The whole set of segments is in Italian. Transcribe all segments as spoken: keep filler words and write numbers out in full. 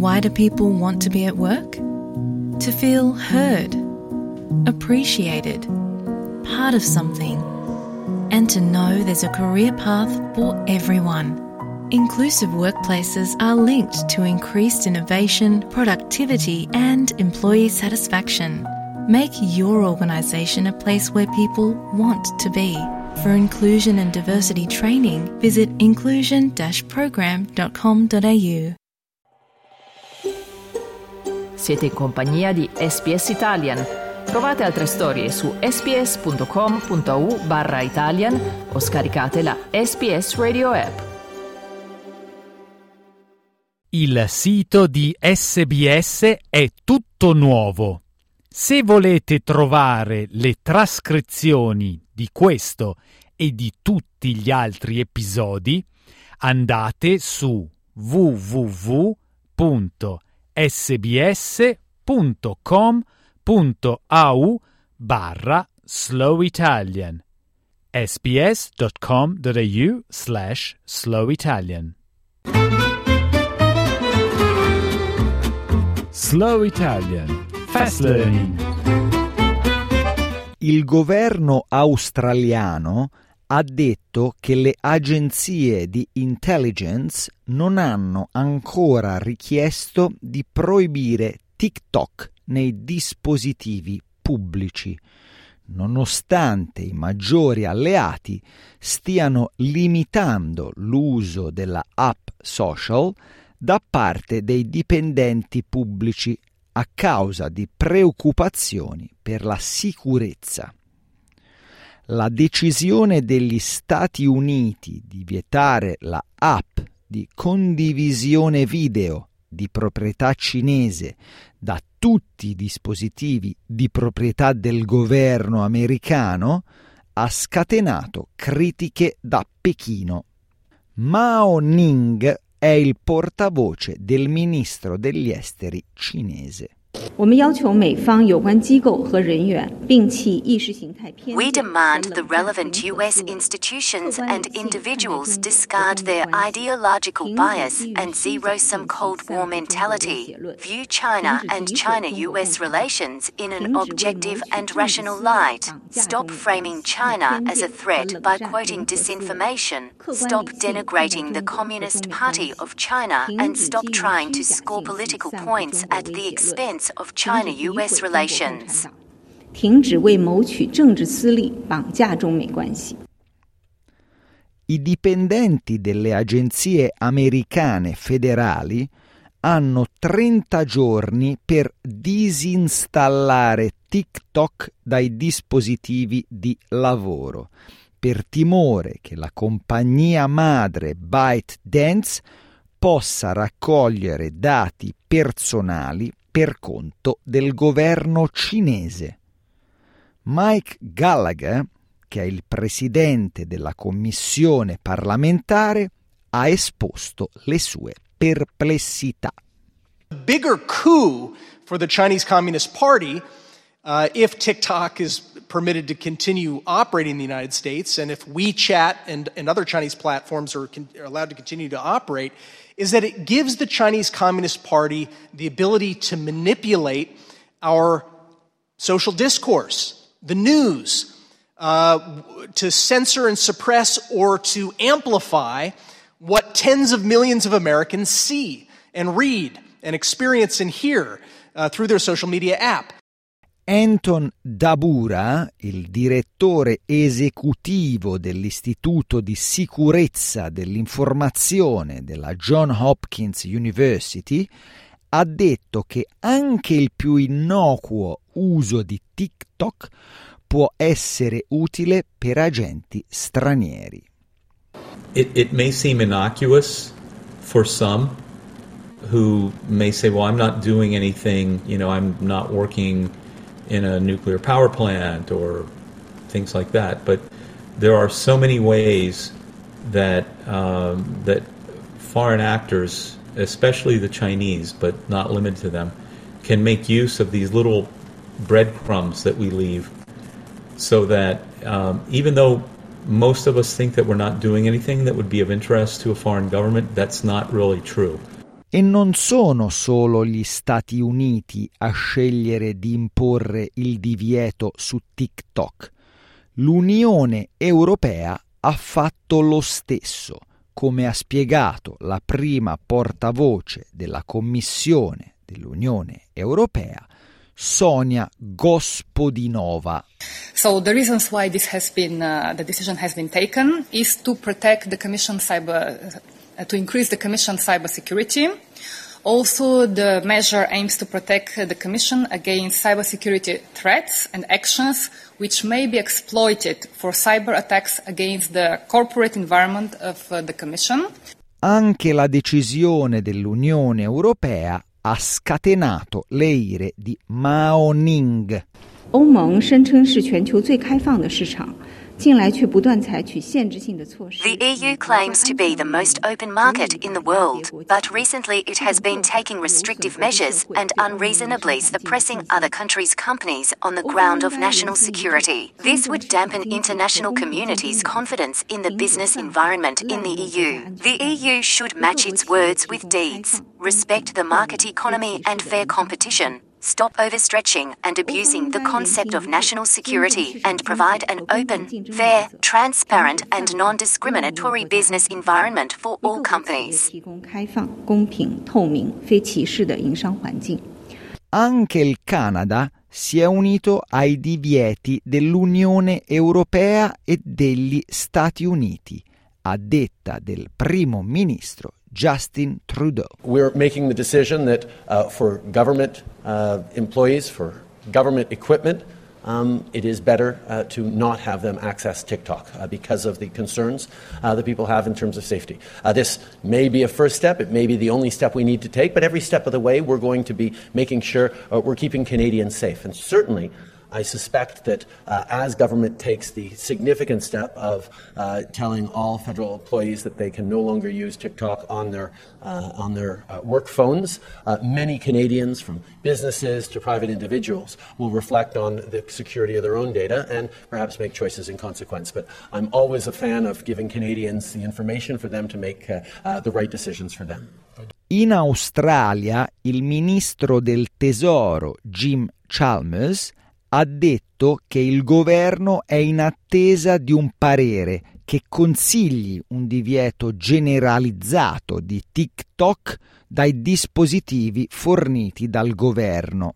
Why do people want to be at work? To feel heard, appreciated, part of something, and to know there's a career path for everyone. Inclusive workplaces are linked to increased innovation, productivity, and employee satisfaction. Make your organisation a place where people want to be. For inclusion and diversity training, visit inclusion dash program dot com dot a u. Siete in compagnia di S B S Italian. Trovate altre storie su sbs.com.au barra Italian o scaricate la S B S Radio app. Il sito di S B S è tutto nuovo. Se volete trovare le trascrizioni di questo e di tutti gli altri episodi, andate su w w w punto s b s punto com punto a u barra slow italian sbs.com.au slash slow Italian. Slow Italian. Fast Learning. Il governo australiano ha detto che le agenzie di intelligence non hanno ancora richiesto di proibire TikTok nei dispositivi pubblici, nonostante i maggiori alleati stiano limitando l'uso della app social da parte dei dipendenti pubblici a causa di preoccupazioni per la sicurezza. La decisione degli Stati Uniti di vietare la app di condivisione video di proprietà cinese da tutti i dispositivi di proprietà del governo americano ha scatenato critiche da Pechino. Mao Ning è il portavoce del ministro degli esteri cinese. We demand the relevant U S institutions and individuals discard their ideological bias and zero-sum Cold War mentality, view China and China-U S relations in an objective and rational light, stop framing China as a threat by quoting disinformation, stop denigrating the Communist Party of China, and stop trying to score political points at the expense of China-U S relations. 停止为谋取政治私利绑架中美关系。 I dipendenti delle agenzie americane federali hanno trenta giorni per disinstallare TikTok dai dispositivi di lavoro, per timore che la compagnia madre ByteDance possa raccogliere dati personali per conto del governo cinese. Mike Gallagher, che è il presidente della commissione parlamentare, ha esposto le sue perplessità. A bigger coup for the Chinese Communist Party uh, if TikTok is permitted to continue operating in the United States and if WeChat and, and other Chinese platforms are, con- are allowed to continue to operate, is that it gives the Chinese Communist Party the ability to manipulate our social discourse, the news, uh, to censor and suppress or to amplify what tens of millions of Americans see and read and experience and hear uh, through their social media app. Anton Dabura, il direttore esecutivo dell'Istituto di Sicurezza dell'Informazione della Johns Hopkins University, ha detto che anche il più innocuo uso di TikTok può essere utile per agenti stranieri. It, it may seem innocuous for some who may say, well, I'm not doing anything, you know, I'm not working in a nuclear power plant or things like that. But there are so many ways that um, that foreign actors, especially the Chinese, but not limited to them, can make use of these little breadcrumbs that we leave so that um, even though most of us think that we're not doing anything that would be of interest to a foreign government, that's not really true. E non sono solo gli Stati Uniti a scegliere di imporre il divieto su TikTok. L'Unione Europea ha fatto lo stesso, come ha spiegato la prima portavoce della Commissione dell'Unione Europea, Sonia Gospodinova. So the reasons why this has been uh, the decision has been taken is to protect the Commission cyber uh, to increase the Commission cyber security. Also, the measure aims to protect the Commission against cybersecurity threats and actions which may be exploited for cyber attacks against the corporate environment of uh, the Commission. Anche la decisione dell'Unione Europea ha scatenato le ire di Mao Ning. 欧盟声称是全球最开放的市场，近来却不断采取限制性的措施。 The E U claims to be the most open market in the world, but recently it has been taking restrictive measures and unreasonably suppressing other countries' companies on the ground of national security. This would dampen international community's confidence in the business environment in the E U. The E U should match its words with deeds, respect the market economy and fair competition, stop overstretching and abusing the concept of national security, and provide an open, fair, transparent and non-discriminatory business environment for all companies. 提供开放、公平、透明、非歧视的营商环境。 Anche il Canada si è unito ai divieti dell'Unione Europea e degli Stati Uniti, a detta del primo ministro Justin Trudeau. We're making the decision that uh, for government uh, employees, for government equipment, um, it is better uh, to not have them access TikTok uh, because of the concerns uh, that people have in terms of safety. Uh, this may be a first step. It may be the only step we need to take, but every step of the way we're going to be making sure uh, we're keeping Canadians safe. And certainly I suspect that uh, as government takes the significant step of uh, telling all federal employees that they can no longer use TikTok on their uh, on their uh, work phones, uh, many Canadians, from businesses to private individuals, will reflect on the security of their own data and perhaps make choices in consequence. But I'm always a fan of giving Canadians the information for them to make uh, uh, the right decisions for them. In Australia, il ministro del Tesoro Jim Chalmers ha detto che il governo è in attesa di un parere che consigli un divieto generalizzato di TikTok dai dispositivi forniti dal governo.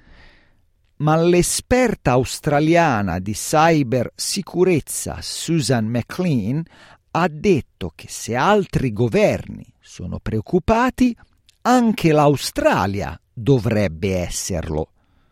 Ma l'esperta australiana di cybersicurezza Susan McLean ha detto che se altri governi sono preoccupati, anche l'Australia dovrebbe esserlo.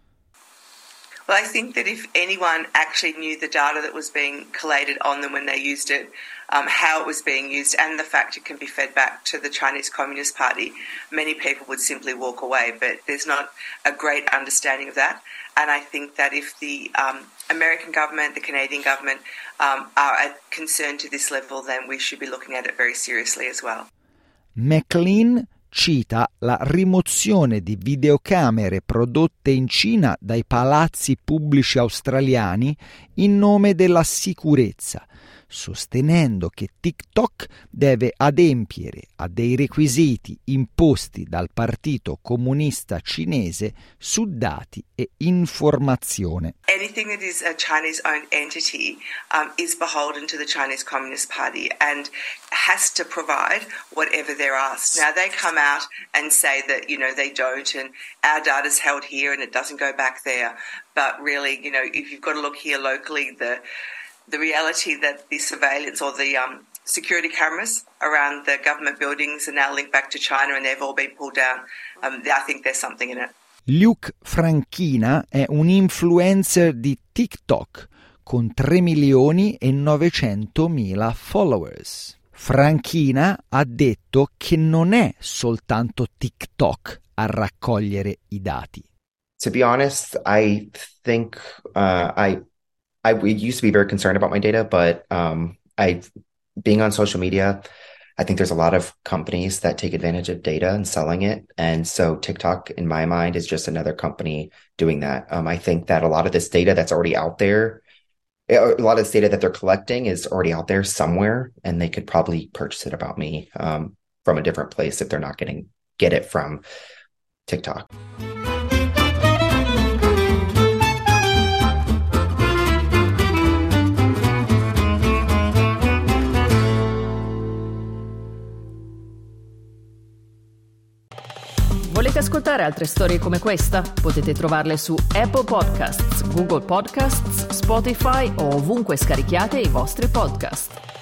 Well, I think that if anyone actually knew the data that was being collated on them when they used it, um, how it was being used, and the fact it can be fed back to the Chinese Communist Party, many people would simply walk away. But there's not a great understanding of that. And I think that if the um, American government, the Canadian government um, are concerned to this level, then we should be looking at it very seriously as well. McLean cita la rimozione di videocamere prodotte in Cina dai palazzi pubblici australiani in nome della sicurezza, sostenendo che TikTok deve adempiere a dei requisiti imposti dal Partito Comunista Cinese su dati e informazione. Anything that is a Chinese-owned entity um, is beholden to the Chinese Communist Party and has to provide whatever they're asked. Now, they come out and say that, you know, they don't, and our data's held here and it doesn't go back there. But really, you know, if you've got to look here locally, the the reality that the surveillance or the um, security cameras around the government buildings are now linked back to China and they've all been pulled down, um, I think there's something in it. Luke Franchina è un influencer di TikTok con tre milioni e novecentomila followers. Franchina ha detto che non è soltanto TikTok a raccogliere i dati. To be honest, I think uh, I I used to be very concerned about my data, but um, I, being on social media, I think there's a lot of companies that take advantage of data and selling it. And so TikTok, in my mind, is just another company doing that. Um, I think that a lot of this data that's already out there, a lot of this data that they're collecting is already out there somewhere, and they could probably purchase it about me um, from a different place if they're not getting get it from TikTok. Volete ascoltare altre storie come questa? Potete trovarle su Apple Podcasts, Google Podcasts, Spotify o ovunque scarichiate i vostri podcast.